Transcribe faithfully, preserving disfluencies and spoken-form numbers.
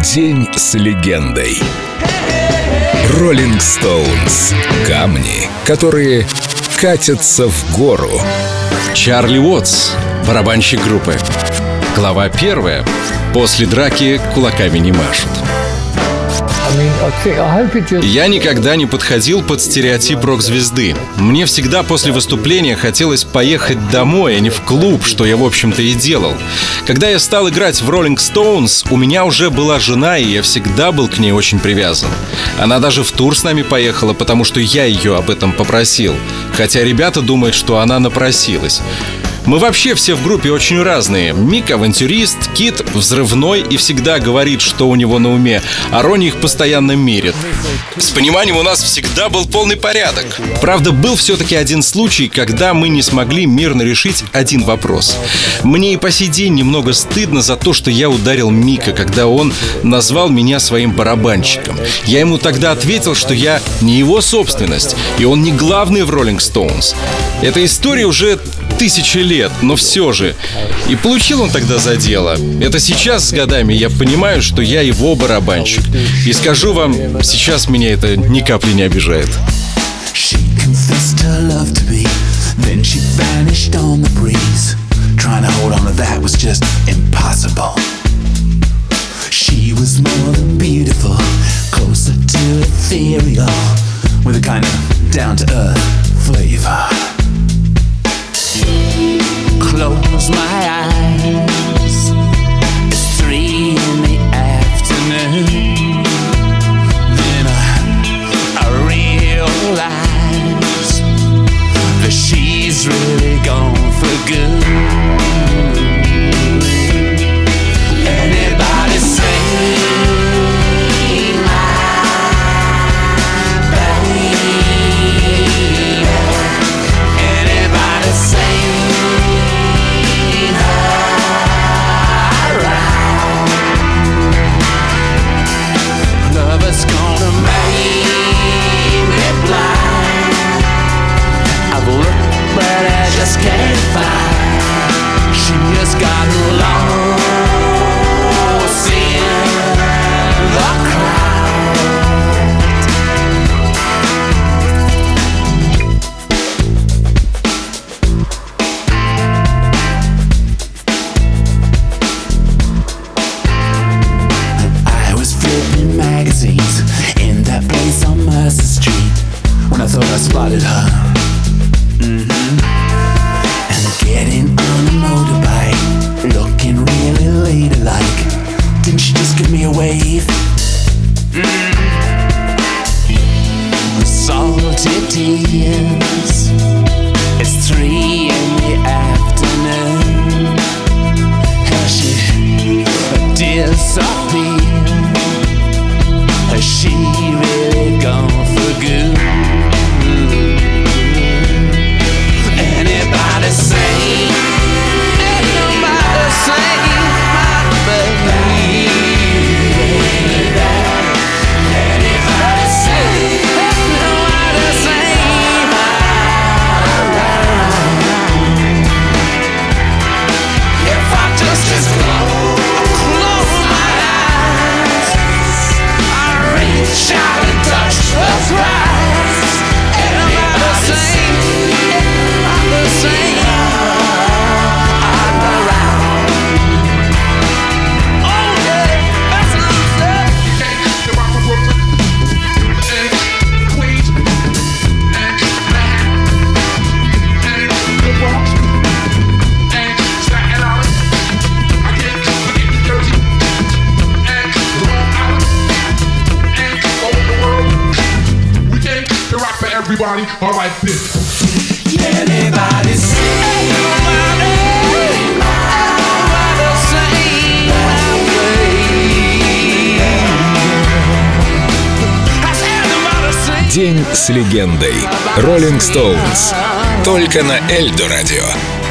День с легендой. Rolling Stones. Камни, которые катятся в гору. Чарли Уотс, барабанщик группы. Глава первая. После драки кулаками не машут. Я никогда не подходил под стереотип рок-звезды. Мне всегда после выступления хотелось поехать домой, а не в клуб, что я, в общем-то, и делал. Когда я стал играть в Rolling Stones, у меня уже была жена, и я всегда был к ней очень привязан. Она даже в тур с нами поехала, потому что я ее об этом попросил. Хотя ребята думают, что она напросилась. Мы вообще все в группе очень разные. Мик — авантюрист, Кит — взрывной и всегда говорит, что у него на уме, а Ронни их постоянно мерит. С пониманием у нас всегда был полный порядок. Правда, был все-таки один случай, когда мы не смогли мирно решить один вопрос. Мне и по сей день немного стыдно за то, что я ударил Мика, когда он назвал меня своим барабанщиком. Я ему тогда ответил, что я не его собственность, и он не главный в Rolling Stones. Эта история уже тысячи лет, но все же. И получил он тогда за дело. Это сейчас с годами я понимаю, что я его барабанщик. И скажу вам, сейчас меня это ни капли не обижает. Close my eyes. It's three in the afternoon. Then I, I realize that she's really gone for good. Anybody say in that place on Mercer Street when I thought I spotted her. Mm-hmm. And getting on a motorbike, looking really ladylike. Didn't she just give me a wave? Mm-hmm. Salty tears. It's three in the afternoon. How she disappeared. Has she really gone for good? Anybody say, anybody say, my baby? Anybody say, anybody say, my love? If I just, just close, close my eyes, reach out and touch the prize. Anybody say, anybody say, I'm around. Oh yeah, that's what I'm saying. You can't get the rock from Brooklyn and Queens and Manhattan and the Bronx and Staten Island. I can't forget New Jersey and Long Island. Rock for everybody, all right, this. Anybody say, anybody, anybody say my way. Has anybody say? День с легендой. Rolling Stones. Только на Эльдо радио.